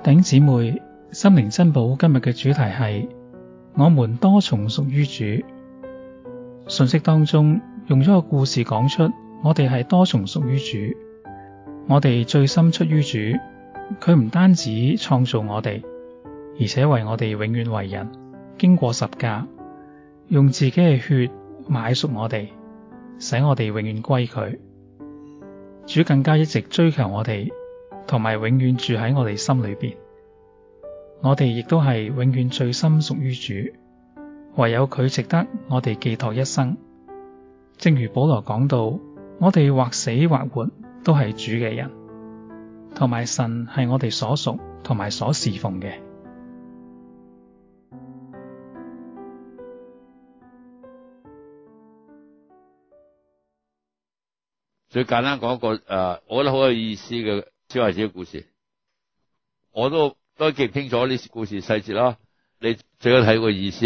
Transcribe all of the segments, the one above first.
弟兄姊妹，心靈珍寶今日嘅主題係我們多重屬於主。信息當中用咗個故事講出我哋係多重屬於主。我哋最深出於主，佢唔單止創造我哋，而且為我哋永遠為人，經過十架，用自己嘅血買贖我哋，使我哋永遠歸佢。主更加一直追求我哋，同埋永遠住喺我哋心裏邊。我哋亦都係永遠最深屬於主，唯有佢值得我哋寄託一生。正如保羅講到，我哋或死或活都係主嘅人，同埋神係我哋所屬同埋所侍奉嘅。 最簡單講一個我覺得好有意思嘅小孩子嘅故事，我都記唔清楚呢故事細節啦。你最緊睇個意思。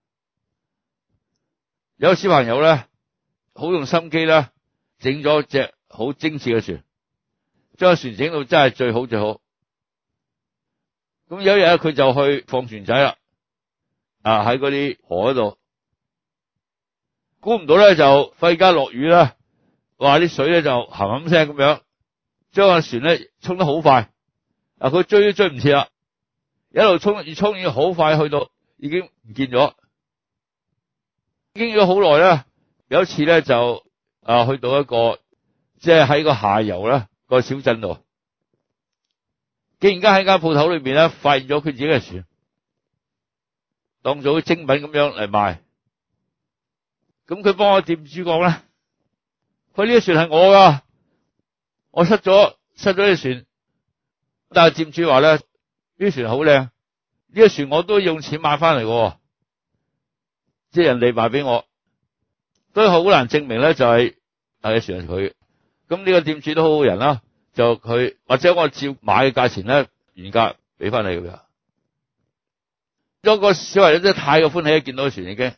有個小朋友咧，好用心機啦，整咗隻好精緻嘅船，將個船整到真係最好最好。咁有一日佢就去放船仔啦，喺嗰啲河嗰度，估唔到咧就忽然間落雨啦。話啲水咧就冚冚聲咁樣，將個船咧沖得好快，佢追都追唔切啦，一路沖越沖越好快，去到已經唔見咗，經咗好耐啦。有一次咧就去到一個即係喺個下游咧個小鎮度，竟然間喺間鋪頭裏邊咧發現咗佢自己嘅船，當做精品咁樣嚟賣。咁佢幫我店主講咧，佢呢個船係我噶，我失咗隻船，但係店主話咧，呢個船好靚，呢個船我都用錢買翻嚟嘅，即係人哋賣俾我，都好難證明咧就係個船係佢。咁呢個店主都好好人啦，就佢或者我照買嘅價錢咧原價俾翻你咁樣。有個小朋友真係太過歡喜，見到個船已經，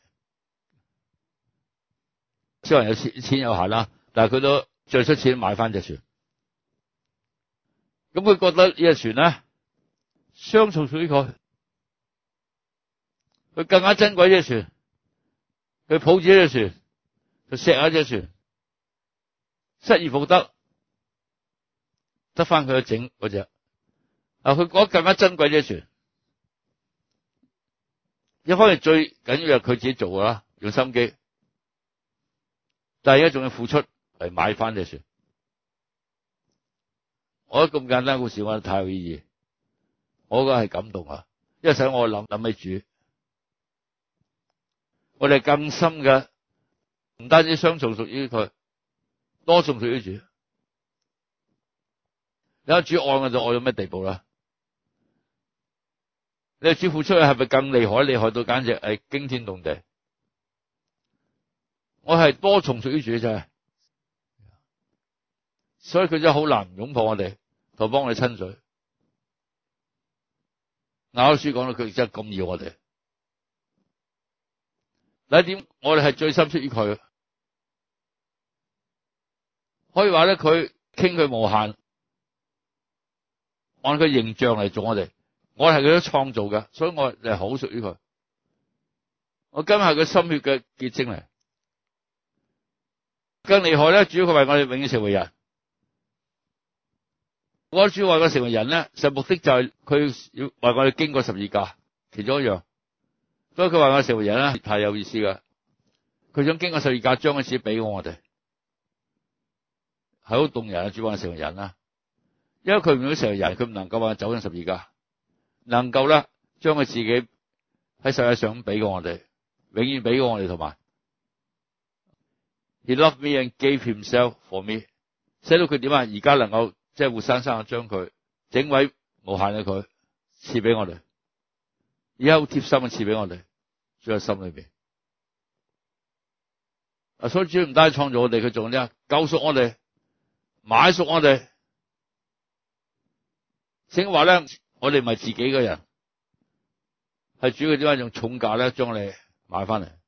小朋友錢有限啦。但係佢都最出錢買翻隻船，咁佢覺得呢隻船咧雙重屬於佢，佢更加珍貴呢隻船，佢抱住呢隻船，佢錫下隻船，失而復得，得翻佢整嗰隻，佢覺得更加珍貴呢隻船。一方面最緊要係佢自己做噶啦，用心機，但係而家仲要付出嚟買翻隻船。我覺得咁簡單故事，我覺得太有意義，我覺得係感動啊！因為使我諗起主，我哋更深嘅唔單止雙重屬於佢，多重屬於主。你睇主愛我就愛到咩地步啦？你主付出去係咪更厲害？厲害到簡直係驚天動地。我係多重屬於主真係。所以佢真係好難擁抱我哋，同幫我哋親嘴。雅歌書講到佢真係咁要我哋。第一點，我哋係最深出於佢，可以話咧，佢傾佢無限，按佢形象嚟做我哋。我係佢都創造嘅，所以我係好屬於佢。我今日係佢心血嘅結晶嚟。更厲害咧，主要佢為我哋永遠成為人。我主為我成為人咧，實目的就係佢要為我哋經過十字架，其中一樣。所以佢話我成為人咧，太有意思噶。佢想經過十字架，將佢自己俾我哋，係好動人啊！主話我成為人啦，因為佢唔想成為人，佢唔能夠話走上十字架，能夠咧將佢自己喺世界上俾過我哋，永遠俾過我哋，同埋 He loved me and gave himself for me， 寫到佢點啊？而家能夠即係活生生將佢整位無限嘅佢賜俾我哋，而家好貼心嘅賜俾我哋，住喺心裏邊。所以主唔單止創造我哋，佢仲呢救贖我哋，買贖我哋。聖經話咧，我哋唔係自己嘅人，係主佢點解用重價咧將你買翻嚟。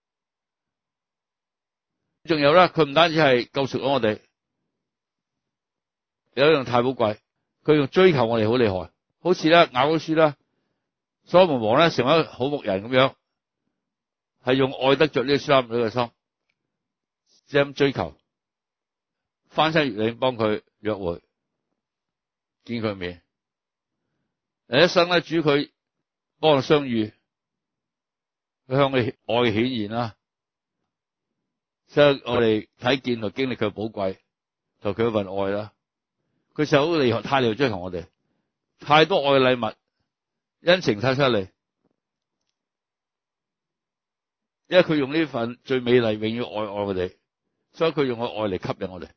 仲有咧，佢唔單止係救贖咗我哋，有一樣太寶貴，佢用追求我哋好厲害， 好似咧雅歌書啦，所羅門王咧成為一個好牧人咁樣，係用愛得着呢個書珊女嘅心，即係咁追求，翻山越嶺幫佢約會，見佢面，一生咧主佢幫佢相遇，佢向佢愛顯現啦，所以我哋睇見同經歷佢寶貴，就佢一份愛啦。佢實好厲害，太厲害追求我哋，太多愛嘅禮物，恩情太犀利，因為佢用呢份最美麗永遠愛我哋，所以佢用個愛嚟吸引我哋，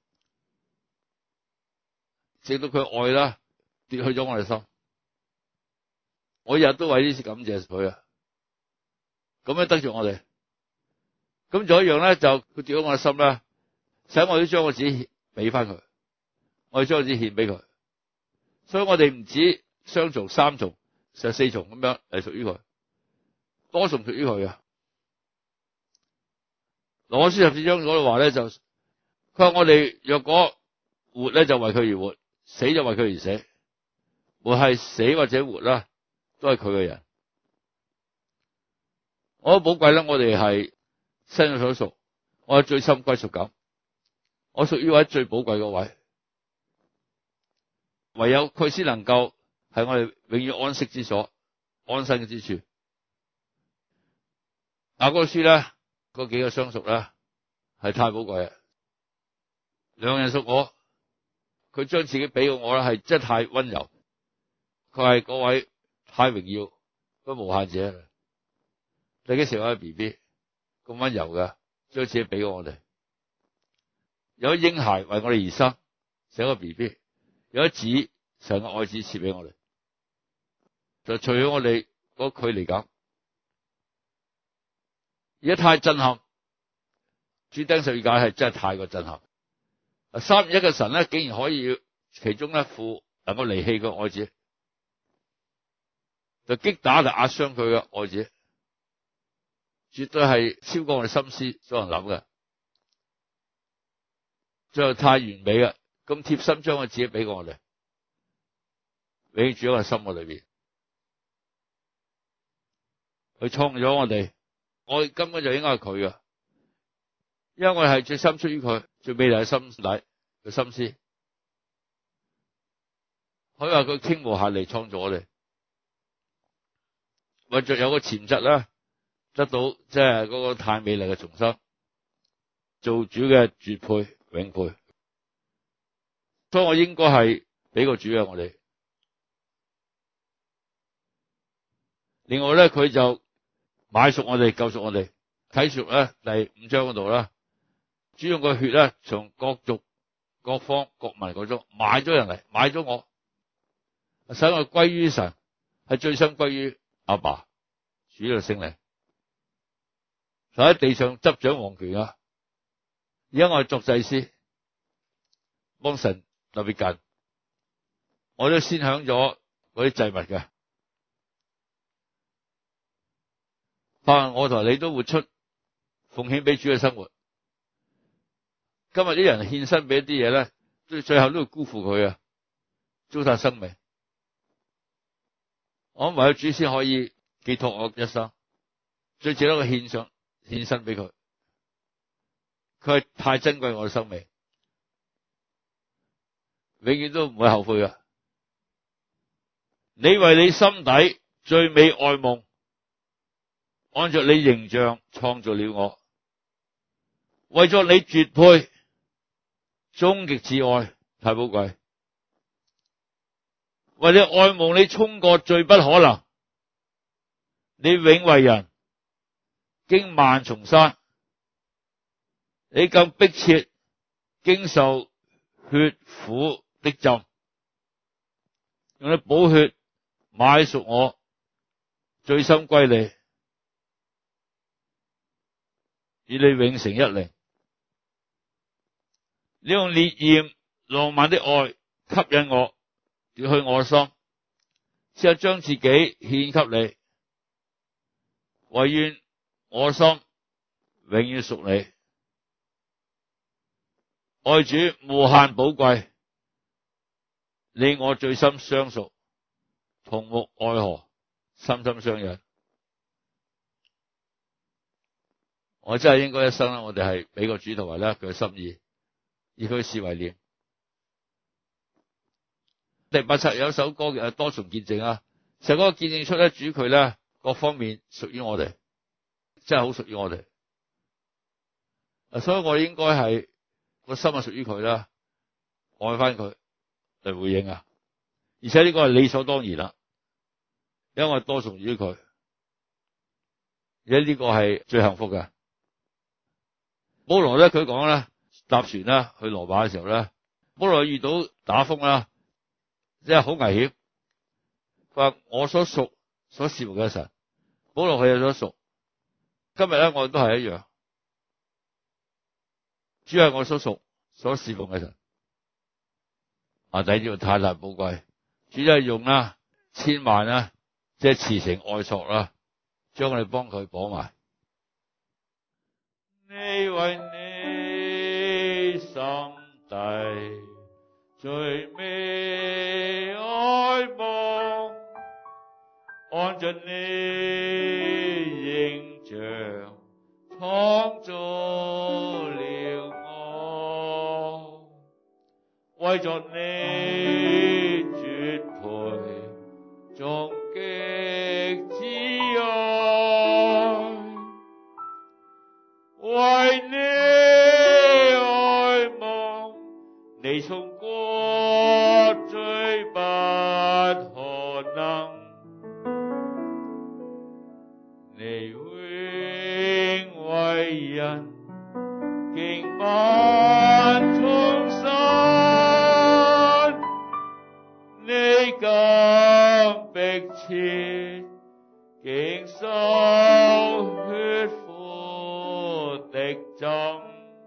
直到佢愛啦奪去咗我哋心。我日日都為呢次感謝佢啊，咁樣得着我哋。咁仲有一樣咧，就佢奪咗我嘅心咧，使我都將我自己俾翻佢，我哋將我自己獻俾佢，所以我哋唔止雙重、三重、四重咁樣係屬於佢，多重屬於佢啊。羅馬書14章嗰度話咧，就佢話我哋若果活咧，就為佢而活；死就為佢而死。無論係死或者活啦，都係佢嘅人。我好寶貴啦，我哋係新約所屬，我有最深歸屬感，我屬於位最寶貴嗰位，唯有佢先能夠係我哋永遠安息之所、安身之處。雅歌書咧，嗰幾個相屬咧係太寶貴啊！兩人屬我，佢將自己俾我啦，係真係太溫柔。佢係嗰位太榮耀、嗰無限者。你幾時有個 BB 咁溫柔嘅，將自己俾我哋？有嬰孩為我哋而生，成個 BB；有一子，成個愛子賜俾我哋，就除咗我哋嗰距離感。而家太震撼，主釘十字架係真係太過震撼。三而一嘅神咧，竟然可以其中一父能夠離棄個愛子，就擊打就壓傷佢嘅愛子，絕對係超過我哋心思所能諗嘅，最後太完美嘅，咁貼心將佢自己俾過我哋，永住喺我哋心嘅裏邊，佢創咗我哋。我根本就應該係佢嘅，因為我哋係最深出於佢，最美麗嘅心底嘅心思。佢話佢傾無限嚟創造我哋，為着有個潛質啦，得到即係嗰個太美麗嘅重生，做主嘅絕配永配，所以我應該係俾個主嘅我哋。另外咧，佢就買贖我哋，救贖我哋。啟示錄咧第5章嗰度啦，主用個血咧，從各族、各方、各民嗰種買咗人嚟，買咗我，使我歸於神，係最深歸於阿爸，主嘅聖靈，就喺地上執掌王權啊！而家我係作祭司，幫神特別近，我都先享咗嗰啲祭物嘅。但我同你都活出奉獻俾主嘅生活。今日啲人獻身俾一啲嘢咧，最後都會辜負佢啊，糟蹋生命。我諗唯有主先可以寄託我一生，最值得我獻身俾佢。佢係太珍貴我嘅生命，永遠都唔會後悔噶。你為你心底最美愛夢，按着你形象創造了我，為咗你絕配終極至愛，太寶貴。為你愛夢，你衝過最不可能，你永為人經萬重山，你更迫切經受血苦的浸，用你寶血買贖我，最深歸你，與你永成一靈。你用烈焰浪漫的愛吸引我，奪去我的心，只係將自己獻給你，惟願我心永遠屬你。愛主無限寶貴，你我最深相屬， 同沐愛河，心心相印。我真係應該一生啦，我哋係俾個主同埋咧佢嘅心意，以佢嘅事為念。第87有一首歌叫多重見證啊，成個見證出咧主佢咧各方面屬於我哋，真係好屬於我哋。所以我應該係個心係屬於佢啦，愛翻佢嚟回應啊！而且呢個係理所當然啦，因為我多重於佢，而且呢個係最幸福嘅。保羅咧佢講咧搭船啦去羅馬嘅時候咧，保羅遇到打風啦，即係好危險。佢話我所屬所侍奉嘅神，保羅佢有所屬。今日咧我哋都係一樣，主係我所屬所侍奉嘅神。弟兄太難寶貴，主就係用啦千萬啦，即係慈繩愛索啦，將我哋幫佢綁埋。你為你心底最美愛夢，按着你形像創造了我，為着你絕配終極摯愛，為你愛夢，你從過最不可能，你永為人經萬重辛，你更迫切經受血苦的針，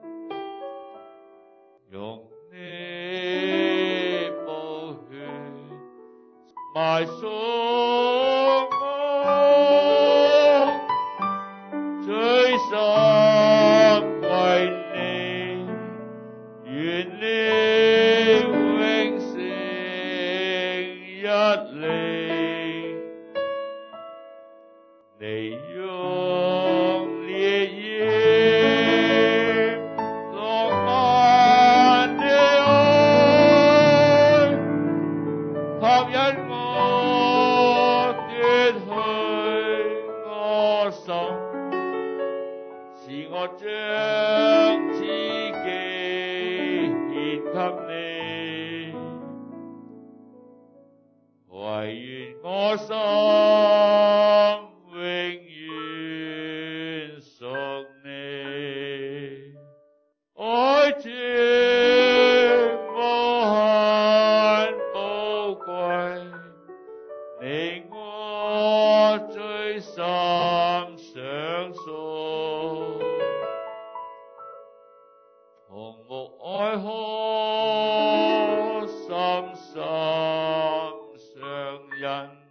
用你寶血買贖我，最深為你願你永成一靈，你用烈焰浪漫的愛，吸引我奪去我心，使我將自己獻給你，惟願我心永遠屬你，愛主無限寶貴，你我最深相屬，同沐愛河，心心相印。